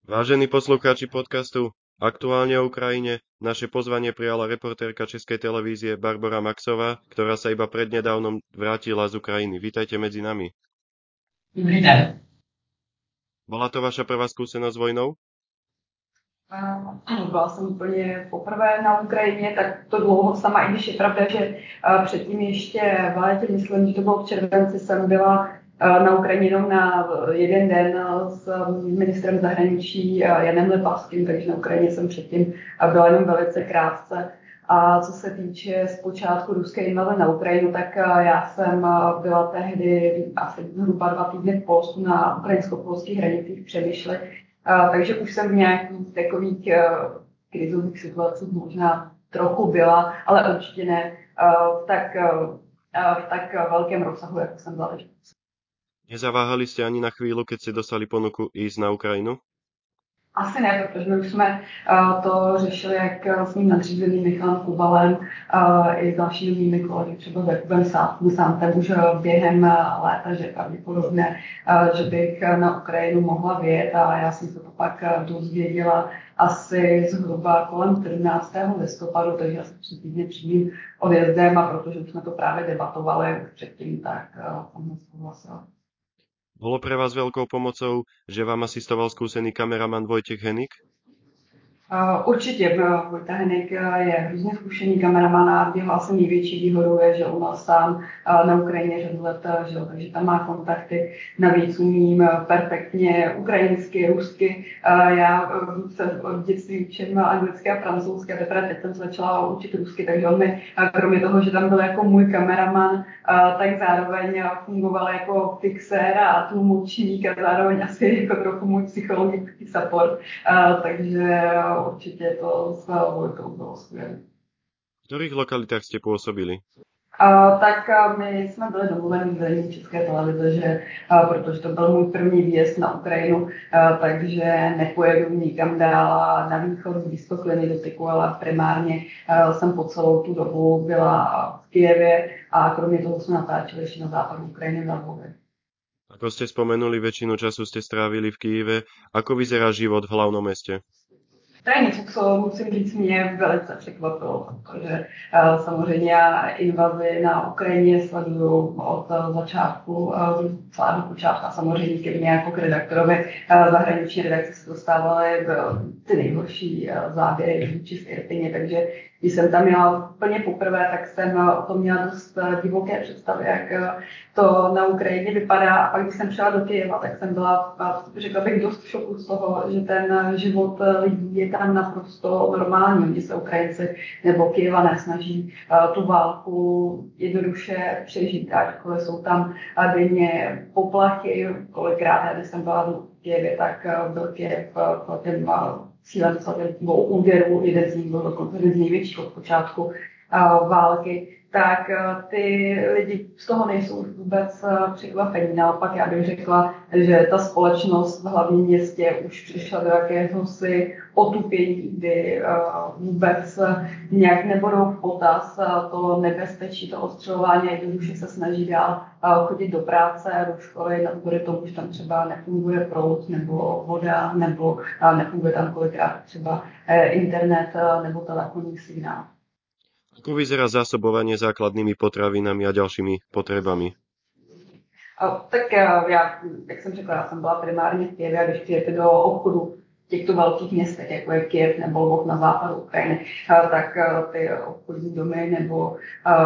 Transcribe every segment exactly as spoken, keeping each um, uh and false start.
Vážení poslucháči podcastu Aktuálne o Ukrajine, naše pozvanie prijala reportérka Českej televízie Barbora Maxová, ktorá sa iba prednedávnom vrátila z Ukrajiny. Vítajte medzi nami. Dobrý den. Bola to vaša prvá skúsenosť s vojnou? Ano, byla jsem úplně poprvé na Ukrajině, tak to dlouho sama, i když je pravda, že předtím ještě v létě, myslím, že to bylo v červenci, jsem byla na Ukrajině jenom na jeden den s ministrem zahraničí Janem Lipavským, takže na Ukrajině jsem předtím byla jenom velice krátce. A co se týče zpočátku ruské invaze na Ukrajinu, tak já jsem byla tehdy asi zhruba dva týdny v Polsku na ukrajinsko-polských hranicích Přemyšli. Uh, takže už jsem v nějakých takových uh, krizových situacích možná trochu byla, ale určitě ne uh, v, tak, uh, v tak velkém rozsahu, jako jsem byla teď. Nezaváhali ste ani na chvíľu, keď ste dostali ponuku ísť na Ukrajinu? Asi ne, protože my už jsme uh, to řešili jak s mým nadřízeným Michalem Kubalem uh, i s dalšími mými kolegy, třeba s Jakubem Sántem už během léta, že pravděpodobně, uh, že bych na Ukrajinu mohla vyjet a já jsem se to pak dozvěděla asi zhruba kolem sedmnáctého listopadu, takže asi tři týdny před mým odjezdem a protože už jsme to právě debatovali už předtím, tak uh, jsem souhlasila. Bolo pre vás veľkou pomocou, že vám asistoval skúsený kameraman Vojtech Henik? Uh, určitě, Vojta Henik je hrozně zkušený kameraman a jeho asi největší výhodou je, že on sám uh, na Ukrajině řadu let žil, takže tam má kontakty. Navíc umím perfektně ukrajinsky, rusky. Uh, já uh, se od dětství učím anglicky a francouzsky a teprve teď jsem začala učit rusky, takže on mi, uh, kromě toho, že tam byl jako můj kameraman, uh, tak zároveň fungoval jako fixér a tlumočník a zároveň asi jako trochu můj psychologický support. Uh, takže určite to s Vojtou bylo skvělé. V ktorých lokalitách ste pôsobili? Uh, tak uh, my jsme byli domluveni v vedení České televize, že uh, protože to byl můj první výjezd na Ukrajinu, uh, takže nepojedu nikam dál a na východ blízko k linii dotyku, ale primárně uh, jsem po celou tu dobu byla v Kyjevě a kromě toho jsme natáčeli ještě na západu Ukrajiny v Lvově. Ako ste spomenuli, väčšinu času ste strávili v Kyjeve. Ako vyzerá život v hlavnom meste? To je něco, co musím říct, mě velice překvapilo, protože uh, samozřejmě já invazi na Ukrajině sleduju od uh, začátku, uh, celá do počátku a samozřejmě ke mně jako k redaktorovi uh, zahraniční redakce se dostávaly ty nejhorší uh, záběry vůči z Irpině, takže když jsem tam měla úplně poprvé, tak jsem o tom měla dost divoké představy, jak to na Ukrajině vypadá. A pak, když jsem přijela do Kyjeva, tak jsem byla, řekla bych, dost v šoku z toho, že ten život lidí je tam naprosto normální. Oni se Ukrajinci nebo Kyjevané snaží tu válku jednoduše přežít, ačkoliv jsou tam denně poplachy. Kolikrát, když jsem byla v Kyjevě, tak byl Kyjev v těm cílem dvou úderů, jeden z nich byl dokonce jeden z největších od počátku uh, války, tak uh, ty lidi z toho nejsou už vůbec uh, překvapení. Naopak já bych řekla, že ta společnost v hlavním městě už přišla do jakéhosi otupění, kdy uh, vůbec uh, nějak nebudou v potaz uh, to nebezpečí, to ostřelování, jednoduše se snaží dál uh, chodit do práce, do školy, navzdory tomu, že tam třeba nefunguje proud nebo voda, nebo uh, nefunguje tam kolikrát třeba uh, internet uh, nebo telefonní signál. Ako vyzerá zásobovanie základnými potravinami a ďalšími potrebami? Uh, tak uh, já, jak jsem řekla, já jsem byla primárně v Kyjevě a když přijete do obchodu těchto velkých městech, jako je Kyjev nebo Lvov na západu Ukrajiny, tak ty obchodní domy nebo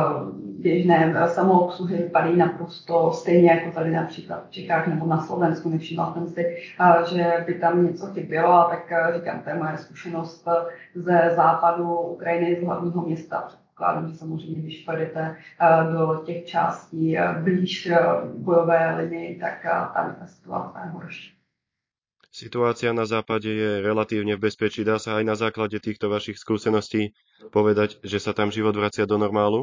běžné samoobsluhy vypadají naprosto stejně jako tady například v Čechách nebo na Slovensku. Nevšimla jsem si, že by tam něco chybělo, tak říkám, to je moje zkušenost ze západu Ukrajiny, z hlavního města. Předpokládám, že samozřejmě, když pojedete do těch částí blíž bojové linii, tak tam je ta situace horší. Situácia na západe je relatívne v bezpečí. Dá sa aj na základe týchto vašich skúseností povedať, že sa tam život vracia do normálu?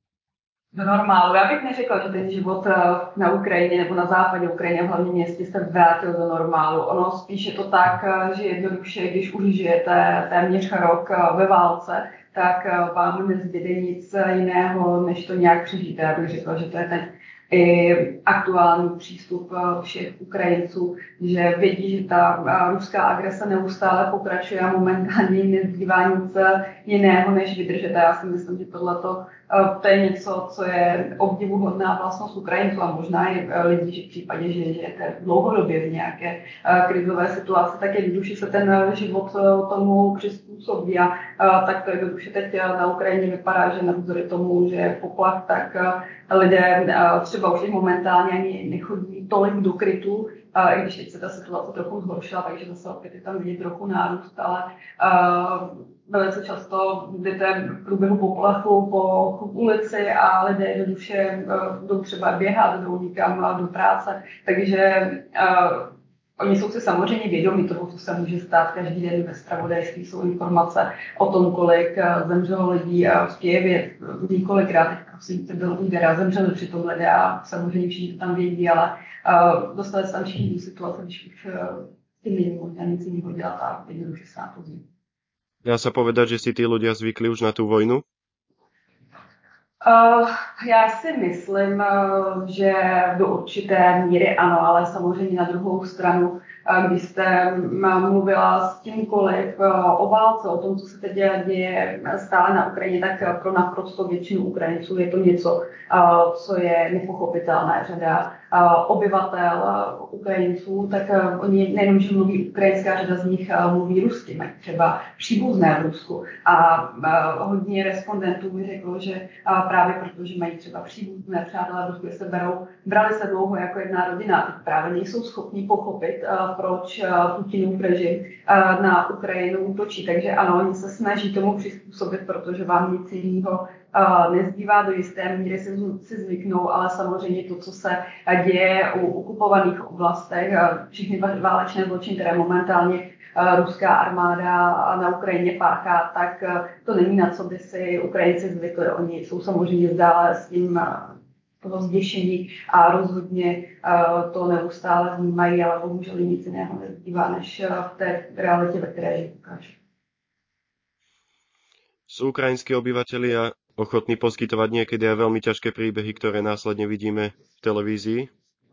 Do normálu. Já bych neřekla, že ten život na Ukrajině nebo na západě Ukrajiny, v hlavním městě, se vrátil do normálu. Ono spíš je to tak, že jednoduše, když už žijete téměř rok ve válce, tak vám nezbyde nic jiného, než to nějak přežít. Já bych řekla, že to je ten i aktuální přístup všech Ukrajinců, že vědí, že ta ruská agrese neustále pokračuje a momentálně nezbývá nic jiného, než vydržet. A já si myslím, že tohleto to je něco, co je obdivuhodná vlastnost Ukrajinců a možná i lidí, že v případě, že žijete dlouhodobě v nějaké krizové situaci, tak jednoduše se ten život tomu přizpůsobí a tak to jednoduše teď na Ukrajině vypadá, že navzdory tomu, že je poplach, tak lidé třeba už momentálně ani nechodí tolik do krytu, i když teď se ta situace trochu zhoršila, takže zase opět je tam vidět trochu nárůst, ale velice často jdete v průběhu poplachu po ulici a lidé jednoduše jdou třeba běhat, jdou někam do práce, takže uh, oni jsou si samozřejmě vědomí toho, co se může stát. Každý den ve zpravodajství jsou informace o tom, kolik zemřelo lidí v Kyjevě. Několikrát, prosím, to byl úder a zemřeli přitom lidé a samozřejmě všichni to tam vědí, ale uh, dostali se tam všichni do situace, když už uh, tím není možná nic jiného dělat a jednoduše se na to zví. Dá sa povedať, že si tí ľudia zvykli už na tú vojnu? Uh, já si myslím, uh, že do určité míry ano, ale samozřejmě na druhou stranu, uh, když jste mluvila s kýmkoliv uh, o válce, o tom, co se teď děje stále na Ukrajině, tak uh, pro naprosto většinu Ukrajinců je to něco, uh, co je nepochopitelné. Řada uh, obyvatel uh, Ukrajinců, tak uh, oni nejenom, že mluví ukrajinská, řada z nich uh, mluví rusky, mají třeba příbuzné v Rusku a uh, hodně respondentů mi řeklo, že uh, právě protože mají třeba příbuzné přátelé v Rusku, se berou, brali se dlouho jako jedna rodina a teď právě nejsou schopni pochopit, uh, proč uh, Putinův režim uh, na Ukrajinu útočí. Takže ano, oni se snaží tomu přizpůsobit, protože vám nic jiného uh, nezbývá, do jisté míry si, si zvyknou, ale samozřejmě to, co se děje u okupovaných oblastech, uh, všechny válečné zločiny, které momentálně ruská armáda na Ukrajině páchá, tak to není na co by si Ukrajinci zvykli. Oni jsou samozřejmě zdále s tím toho zděšení a rozhodně to neustále vnímají, ale bohužel nic jiného nezbývá, než v té realitě, ve které žijí. Sú ukrajinskí obyvatelia ochotní poskytovať niekedy aj veľmi ťažké príbehy, ktoré následne vidíme v televízii?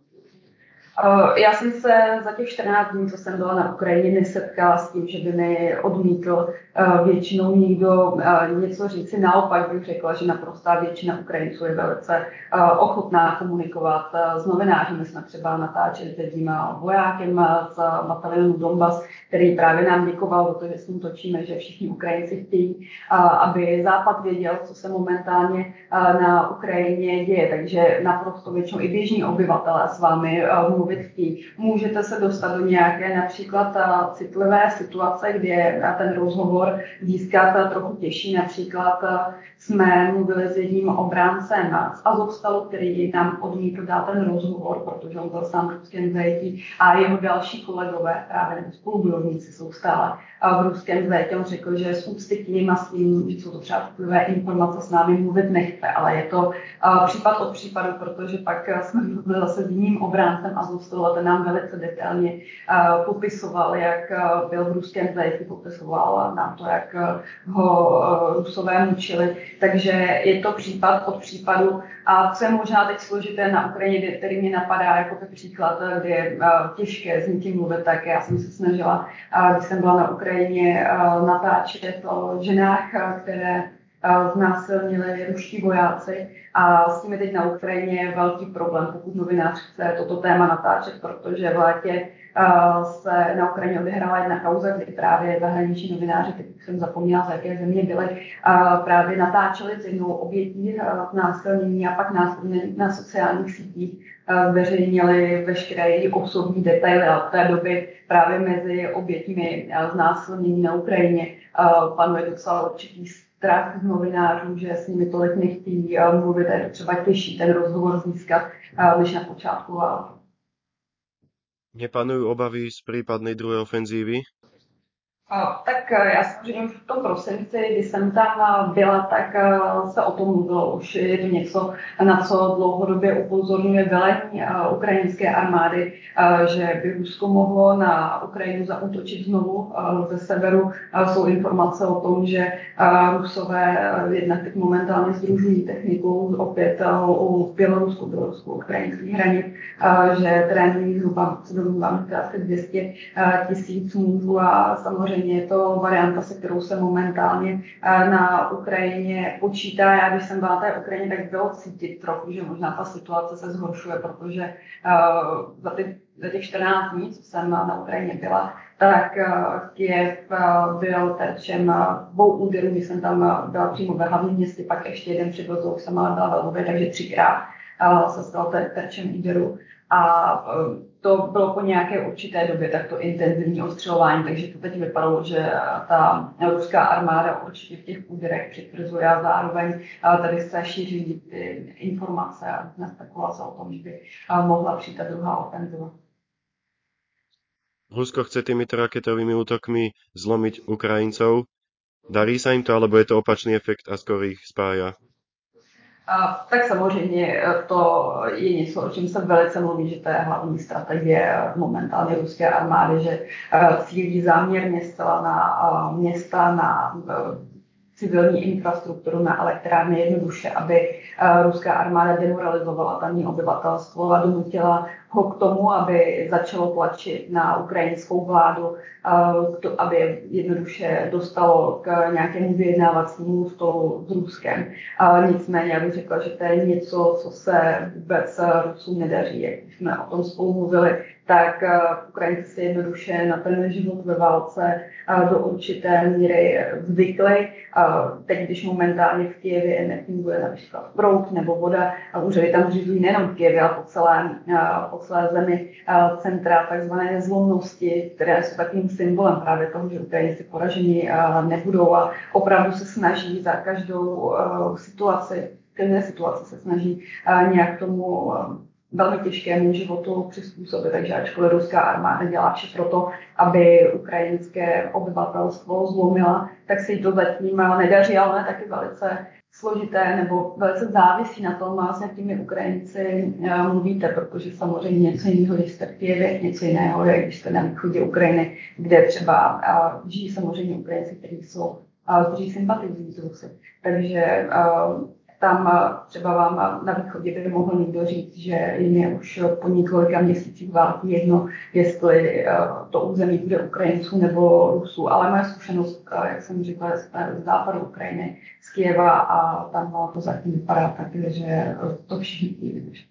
Já jsem se za těch čtrnáct dní, co jsem byla na Ukrajině, nesetkala s tím, že by mi odmítl většinou někdo něco říci. Naopak bych řekla, že naprostá většina Ukrajinců je velice ochotná komunikovat s novináři. My jsme třeba natáčeli s jedním vojákem z batalionu Donbas, který právě nám děkoval za to, že s ním točíme, že všichni Ukrajinci chtějí, aby Západ věděl, co se momentálně na Ukrajině děje. Takže naprosto většinou i běžní obyvatelé s vámi mluví. Můžete se dostat do nějaké například citlivé situace, kde je ten rozhovor získat trochu těžší. Například jsme mluvili s jedním obráncem z Azovstalu, který nám odmítl dát ten rozhovor, protože on byl sám v ruském zajetí a jeho další kolegové, právě spolubojovníci, jsou stále v ruském zajetí. On řekl, že s úcty k ním a s tím, že jsou to třeba citlivé informace, s námi mluvit nechce, ale je to případ od případu, protože pak jsme mluvili zase s jiným obráncem Azovstalu a ten nám velice detailně uh, popisoval, jak uh, byl v ruském zajetí, popisoval nám to, jak uh, ho uh, Rusové mučili. Takže je to případ od případu. A co je možná teď složité na Ukrajině, který mě napadá jako ten příklad, kde je uh, těžké s někým mluvit, tak já jsem se snažila, uh, když jsem byla na Ukrajině, uh, natáčet o ženách, uh, které znásilnili ruští vojáci a s tím je teď na Ukrajině velký problém, pokud novinář chce toto téma natáčet, protože v létě uh, se na Ukrajině odehrála jedna kauza, kdy právě zahraniční novináři, teď jsem zapomněla, z jaké země byli, uh, právě natáčeli s jednou obětí uh, znásilnění a pak následně na sociálních sítích uh, zveřejnili veškeré její osobní detaily a od té doby právě mezi oběťmi uh, znásilnění na Ukrajině uh, panuje docela určitý strach z novinářů, že s nimi tolik nechtějí uh, mluvit, je to třeba těžší ten rozhovor získat, uh, než na počátku války. Nepanujú obavy z prípadnej druhej ofenzívy? A, tak eh, já samozřejmě v tom prosinci, když jsem tam eh, byla, tak eh, se o tom mluvilo. Už je to něco, na co dlouhodobě upozorňuje velení eh, ukrajinské armády, eh, že by Rusko mohlo na Ukrajinu zaútočit znovu eh, ze severu. Eh, Jsou informace o tom, že eh, Rusové eh, jednak teď momentálně sdružují techniku opět eh, u Bělorusku, Bělorusku, ukrajinských hranic, eh, že trénují zhruba asi dvě stě tisíc mužů a samozřejmě je to varianta, se kterou se momentálně na Ukrajině počítá. Já, když jsem byla na té Ukrajině, tak bylo cítit trochu, že možná ta situace se zhoršuje, protože za, ty, za těch čtrnáct dní, co jsem na Ukrajině byla, tak Kyjev byl terčem dvou úderů, když jsem tam byla přímo ve hlavním městě, pak ještě jeden přiblízl, už jsem ale byla ve Lvově, takže třikrát se stal terčem úderu. A to bylo po nějaké určité době takto intenzivní ostřelování, takže to teď vypadalo, že ta ruská armáda určitě v těch úderech přitvrzuje a zároveň tady se šíří ty informace a různé spekulace o tom, že by mohla přijít ta druhá ofenziva. Rusko chce týmito raketovými útokmi zlomiť Ukrajincov. Darí sa im to, alebo je to opačný efekt a skôr ich spája? A, tak samozřejmě to je něco, o čem se velice mluví, že to je hlavní strategie momentálně ruské armády, že cílí záměrně zcela na města, na civilní infrastrukturu, na elektrárny jednoduše, aby ruská armáda demoralizovala tamní obyvatelstvo a donutila ho k tomu, aby začalo tlačit na ukrajinskou vládu, aby jednoduše dostalo k nějakému vyjednávacímu stolu s Ruskem. Nicméně já bych řekla, že to je něco, co se vůbec Rusům nedaří. Jak jsme o tom spolu mluvili, tak Ukrajinci si jednoduše na ten život ve válce do určité míry zvykli. Teď, když momentálně v Kyjevě nefunguje například proud nebo voda, úřady tam zřizují nejenom v Kyjevě, ale po celé, po celé zemi centra takzvané zlomnosti, které jsou takovým symbolem právě toho, že Ukrajinci poražení nebudou a opravdu se snaží za každou situaci, každé situace se snaží nějak tomu velmi těžkému životu přizpůsobit. Takže ačkoliv ruská armáda dělá vše pro to, aby ukrajinské obyvatelstvo zlomila, tak se jí to zatím nedaří, ale taky velice složité nebo velice závisí na tom, s jakými Ukrajinci mluvíte, protože samozřejmě něco jiného, když jste v Kyjevě, něco jiného je, když jste na východě Ukrajiny, kde třeba žijí samozřejmě Ukrajinci, kteří jsou, kteří sympatizují s Rusy. Takže tam třeba vám na východě by mohl někdo říct, že jim je už po několika měsících války jedno, jestli to území bude Ukrajinců nebo Rusů. Ale moje zkušenost, jak jsem říkala, z západu Ukrajiny, z Kyjeva a tam to zatím vypadá tak, že to všichni chtějí vydržet.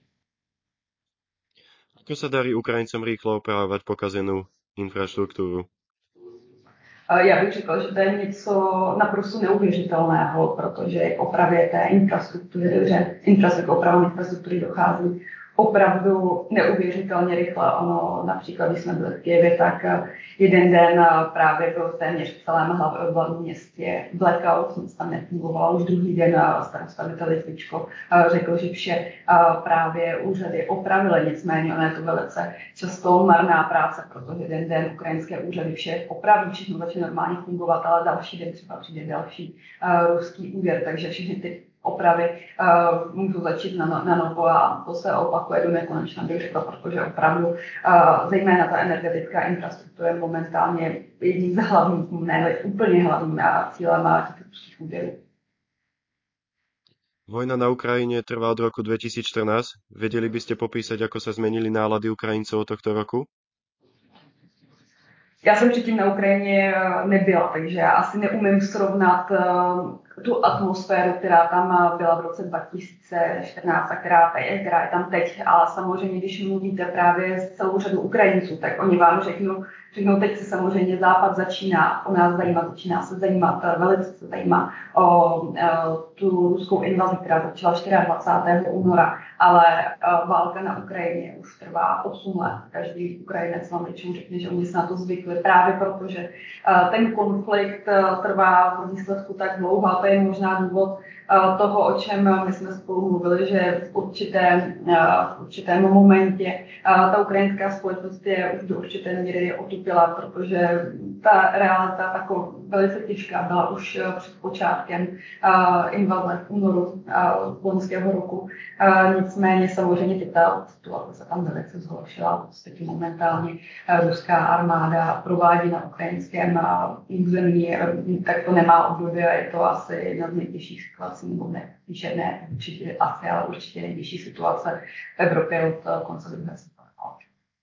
Ako sa darí Ukrajincom rýchlo opravovať pokazenú infraštruktúru? Já bych řekla, že to je něco naprosto neuvěřitelného, protože k opravě té infrastruktury, že infrastruktury, opravám infrastruktury dochází opravdu neuvěřitelně rychle. Ono, například, když jsme byli v Kyjevě, tak jeden den právě byl téměř v celém hlavním městě blackout, nic tam nefungovalo. Už druhý den starosta Litvičko řekl, že vše právě úřady opravily, nicméně ono je to velice často marná práce, protože jeden den ukrajinské úřady vše opraví, všechno začne normálně fungovat, ale další den třeba přijde další ruský úder, takže všechny ty opravy uh, můžu začít na, na novo a to se opakuje do nekonečna, bych řekla, protože opravdu uh, zejména ta energetická infrastruktura je momentálně jedním z hlavních, ne úplně hlavním cílem těch ruských úderů. Vojna na Ukrajine trvá od roku dvetisícštrnásť. Vedeli by ste popísať, ako sa zmenili nálady Ukrajincov od tohto roku? Já jsem předtím na Ukrajině nebyla, takže já asi neumím srovnat tu atmosféru, která tam byla v roce dva tisíce čtrnáct a která, která je tam teď. Ale samozřejmě, když mluvíte právě s celou řadou Ukrajinců, tak oni vám řeknou, řeknou, teď se samozřejmě Západ začíná o nás zajímat, začíná se zajímat, velice se zajímá o, o tu ruskou invazi, která začala dvacátého čtvrtého února, ale o, válka na Ukrajině už trvá osm let. Každý Ukrajinec vám většinou řekne, že oni se na to zvykli právě proto, že o, ten konflikt o, trvá v výsledku tak dlouho, a to je možná důvod, toho, o čem my jsme spolu mluvili, že v, určité, v určitém momentě ta ukrajinská společnost je už do určité míry otupila, protože ta realita taková velice těžká byla už před počátkem invaze v únoru loňského roku. Nicméně samozřejmě ta situace se tam velice zhoršila. Vlastně momentálně ruská armáda provádí na ukrajinském území, tak to nemá období a je to asi jedna z nejtěžších situací, nebo ne, píše ne, určitě asi, ale určitě nejtěžší situace v Evropě od konce druhé světové války.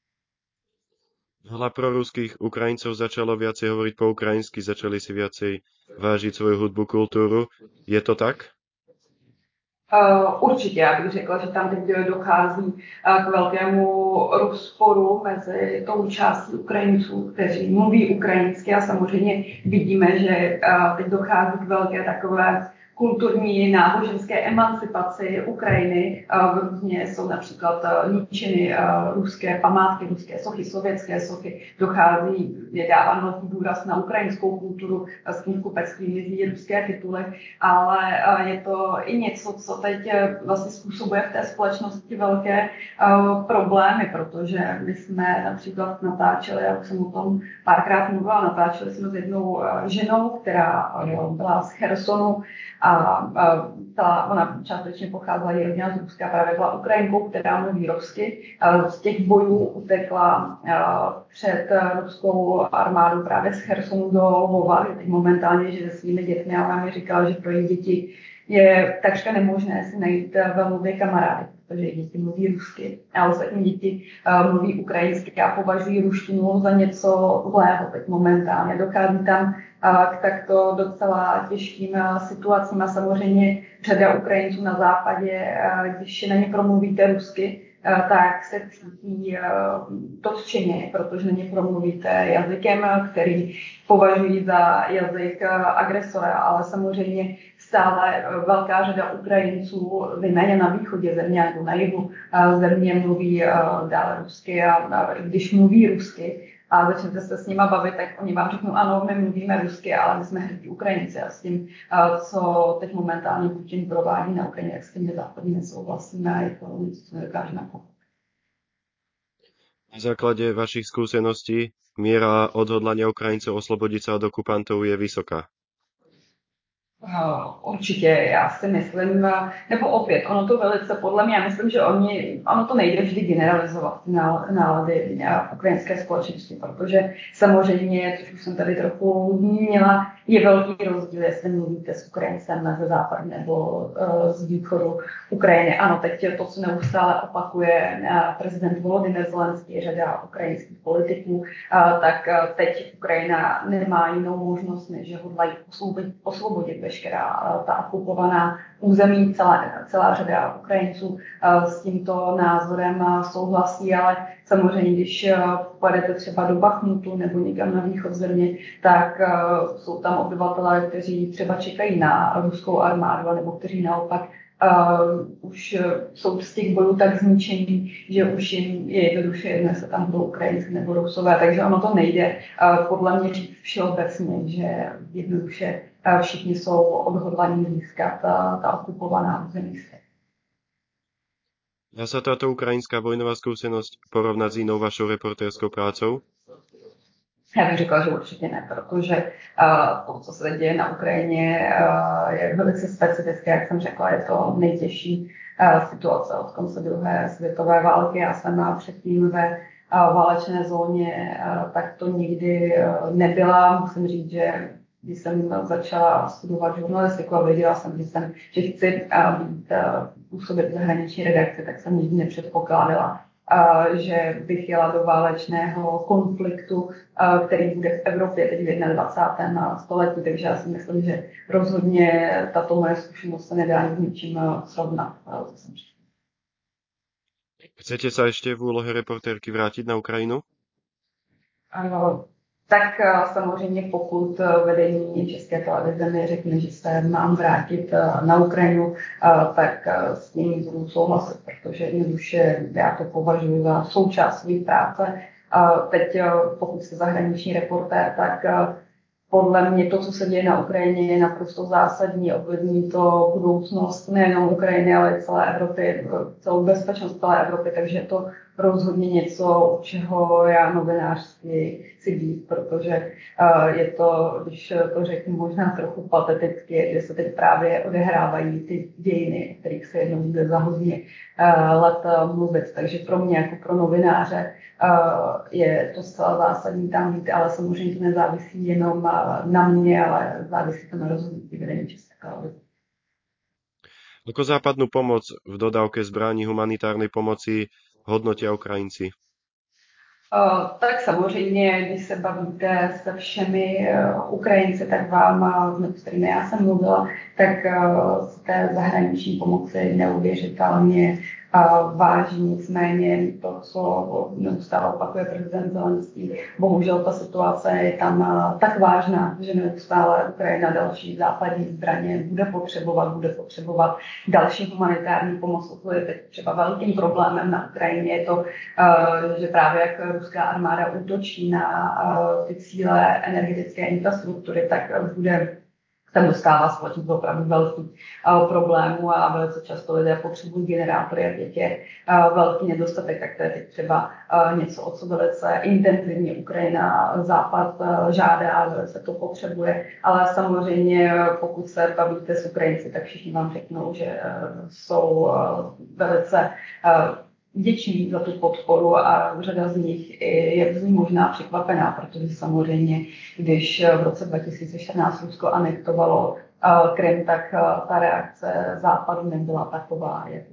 Veľa proruských Ukrajincov začalo viacej hovoriť po ukrajinsky, začali si viacej vážiť svoju hudbu, kultúru. Je to tak? Uh, určitě, já bych řekla, že tam teď dochází uh, k velkému rozporu mezi tou částí Ukrajinců, kteří mluví ukrajinsky a samozřejmě vidíme, že uh, teď dochází k velké takové kulturní náboženské emancipaci Ukrajiny. Různě jsou například ničeny ruské památky, ruské sochy, sovětské sochy. Dochází, je dáván velký důraz na ukrajinskou kulturu, s tím kupectvím mizí ruské tituly, ale je to i něco, co teď vlastně způsobuje v té společnosti velké problémy, protože my jsme například natáčeli, já už jsem o tom párkrát mluvila, natáčeli jsme s jednou ženou, která byla z Chersonu, a ta, ona částečně pocházela i rodina z Ruska, právě byla Ukrajinkou, která mluví rusky. Z těch bojů utekla před ruskou armádou právě z Chersonu do Lvova, teď momentálně žije se svými dětmi a ona mi říkala, že pro její děti je takřka nemožné si najít ve Lvově kamarády, protože děti mluví rusky, a ostatní děti uh, mluví ukrajinsky a považují ruštinu za něco zlého teď momentálně. Dochází tam uh, k takto docela těžkým uh, situacím a samozřejmě řada Ukrajinců na západě, uh, když na ně promluvíte rusky, uh, tak se cítí uh, dotčeně, protože na ně promluvíte jazykem, který považují za jazyk uh, agresora, ale samozřejmě stále velká řada Ukrajinců, zejména na východě země nebo na jihu země, mluví dále rusky a když mluví rusky a začnete se s nima bavit, tak oni vám řeknou, ano, my mluvíme rusky, ale my jsme hrdí Ukrajinci a s tím, co teď momentálně Putin provádí na Ukrajině, jak s tím západně nesouhlasíme a je to něco, co nedokážeme pochopit. Na základe vašich skúseností miera odhodlania Ukrajincov oslobodiť sa od okupantov je vysoká. Určitě, já si myslím, nebo opět, ono to velice, podle mě, já myslím, že oni, ono to nejde vždy generalizovat nálady ukrajinské společnosti, protože samozřejmě, což už jsem tady trochu zmínila, je velký rozdíl, jestli mluvíte s Ukrajincem ze západu nebo uh, z východu Ukrajiny. Ano, teď to, co neustále opakuje uh, prezident Volodymyr Zelenský, řada ukrajinských politiků, uh, tak uh, teď Ukrajina nemá jinou možnost, než že hodlají osvobodit, osvobodit veškerá uh, ta okupovaná území. Celá, celá řada Ukrajinců uh, s tímto názorem uh, souhlasí, ale samozřejmě, když uh, pojedete třeba do Bachmutu nebo někam na východ země, tak uh, jsou tam obyvatelé, kteří třeba čekají na ruskou armádu, nebo kteří naopak uh, už jsou z těch bojů tak zničení, že už jim je jednoduše jedno, jestli tam budou Ukrajinci nebo Rusové, takže ono to nejde uh, podle mě říct všeobecně, že jednoduše uh, všichni jsou odhodlaní získat uh, ta okupovaná území. Dá sa táto ukrajinská vojnová skúsenosť porovnať s inou vašou reportérskou prácou? Já bych řekla, že určitě ne, protože uh, to, co se děje na Ukrajině, uh, je velice specifické, jak jsem řekla, je to nejtěžší uh, situace od konce druhé světové války. Já jsem předtím ve uh, válečné zóně, uh, tak to nikdy uh, nebyla. Musím říct, že když jsem začala studovat žurnalistiku a věděla jsem, že, jsem, že chci uh, být, uh, působit v zahraniční redakci, tak jsem nikdy nepředpokládala, Uh, že bych jela do válečného konfliktu, uh, který bude v Evropě teď v dvacátém prvním století, takže já si myslím, že rozhodně tato moje zkušenost se nedá s ničím uh, srovnat. Uh, Chcete sa ešte v úlohe reportérky vrátiť na Ukrajinu? Uh, tak uh, samozřejmě pokud uh, vedení České televize mi řekne, že se mám vrátit uh, na Ukrajinu, uh, tak uh, s tím budu souhlasit, protože jednoduše já to považuji za součást své práce. Uh, teď uh, pokud jste zahraniční reportér, tak uh, podle mě to, co se děje na Ukrajině, je naprosto zásadní. Ovlivní to budoucnost nejenom Ukrajiny, ale i celé Evropy, celou bezpečnost celé Evropy, takže je to rozhodně něco, u čeho já novinářství chci být, protože uh, je to, když to řeknu možná trochu pateticky, že se teď právě odehrávají ty dějiny, o kterých se jednou bude za hodně uh, let uh, mluvit. Takže pro mě jako pro novináře uh, je to zcela zásadní tam být, ale samozřejmě to nezávisí jenom uh, na mě, ale závisí to na rozhodnutí vedení České televize. Ako západnú pomoc v dodávke zbraní humanitárnej pomoci hodnotia Ukrajinci? Uh, tak samozřejmě, když se bavíte se všemi uh, Ukrajinci, tak vám, uh, s kterými já jsem mluvila, tak uh, z té zahraniční pomoci neuvěřitelně uh, váží. Nicméně to, co neustále opakuje prezident Zelenský, bohužel ta situace je tam uh, tak vážná, že neustále Ukrajina další západní zbraně bude potřebovat, bude potřebovat další humanitární pomoc. To je teď třeba velkým problémem na Ukrajině, je to, uh, že právě jak ruská armáda útočí na uh, ty cíle energetické infrastruktury, tak uh, bude tam dostává společnost opravdu velký uh, problémů a velice často lidé potřebují generátory a teď je uh, velký nedostatek, tak to je teď třeba uh, něco, o co velice intenzivně Ukrajina Západ uh, žádá, velice to potřebuje, ale samozřejmě pokud se bavíte s Ukrajinci, tak všichni vám řeknou, že uh, jsou uh, velice uh, vděční za tu podporu a řada z nich je z ní možná překvapená, protože samozřejmě, když v roce dva tisíce čtrnáct Rusko anektovalo Krym, tak ta reakce Západu nebyla taková, jak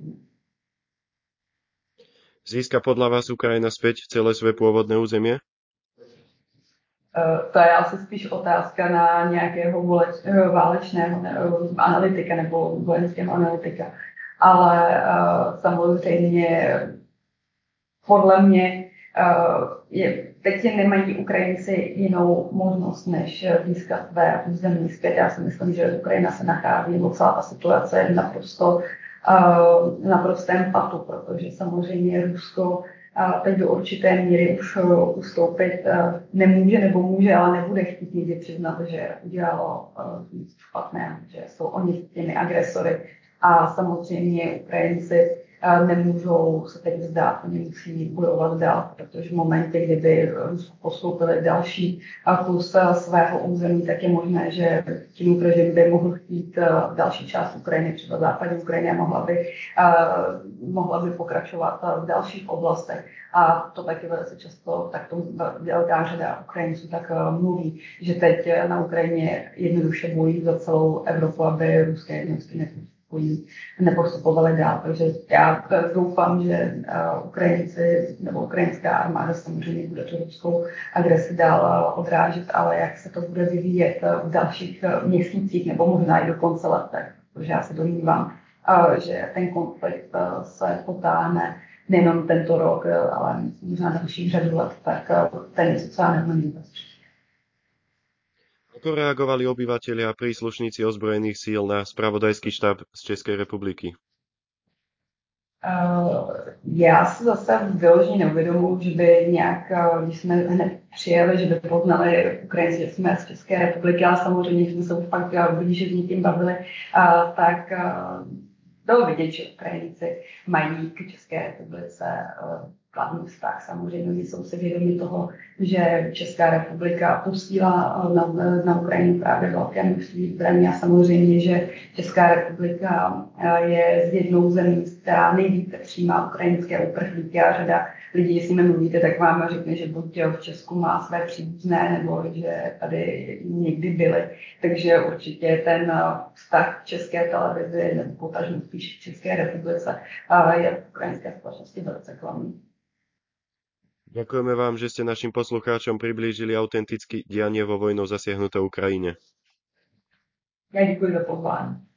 Získa podľa vás Ukrajina späť celé svoje pôvodné územie? To je asi spíš otázka na nějakého válečného analytika nebo vojenského analytika. Ale samozřejmě podle mě je, teď nemají Ukrajinci jinou možnost, než získat své území zpět. Já si myslím, že Ukrajina se nachází, nebo celá ta situace je naprosto na prostém patu, protože samozřejmě Rusko teď do určité míry už ustoupit nemůže nebo může, ale nebude chtít nikdy přiznat, že udělalo nic špatného, že jsou oni těmi agresory. A samozřejmě Ukrajinci nemůžou se teď vzdát, oni musí bojovat dál, protože v momentě, kdyby postoupili další kus svého území, tak je možné, že tím režim by mohl chtít další část Ukrajiny, třeba západní Ukrajiny, a mohla by, mohla by pokračovat v dalších oblastech. A to taky velice často, tak to velká řada Ukrajinců tak mluví, že teď na Ukrajině jednoduše bojí za celou Evropu, aby ruské jednotky nepustily nepostupovali dál. Takže já doufám, že Ukrajinci nebo ukrajinská armáda samozřejmě bude tu ruskou agresi dál odrážet, ale jak se to bude vyvíjet v dalších měsících nebo možná i do konce let, protože já se domnívám, že ten konflikt se potáhne nejenom tento rok, ale možná dalších řadu let, tak ten je sociálně nebezpečný. Ako reagovali obyvatelia a príslušníci ozbrojených síl na spravodajský štáb z Českej republiky? Uh, já si zase vyloženě neuvědomuji, že by nějak, když jsme hned přijeli, že by poznali Ukrajinci, že jsme z České republiky, ale samozřejmě, že jsme se už fakt blíže s někým bavili, uh, tak uh, bylo vidět, že Ukrajinci mají k České republice uh, kladný vztah. Samozřejmě jsou si vědomi toho, že Česká republika posílá na, na Ukrajinu právě velké množství zbraní a samozřejmě, že Česká republika je z jednou zemí, která nejvíce přijímá ukrajinské uprchlíky a řada lidí, jestli mi mluvíte, tak vám řekne, že buď v Česku má své příbuzné, nebo že tady někdy byli. Takže určitě ten vztah České televizi, nebo potažmo spíš v České republice, je v ukrajinské společnosti velice kladný. Ďakujeme vám, že ste našim poslucháčom priblížili autenticky dianie vo vojnou zasiahnutej Ukrajine. Já děkuji za pozvání.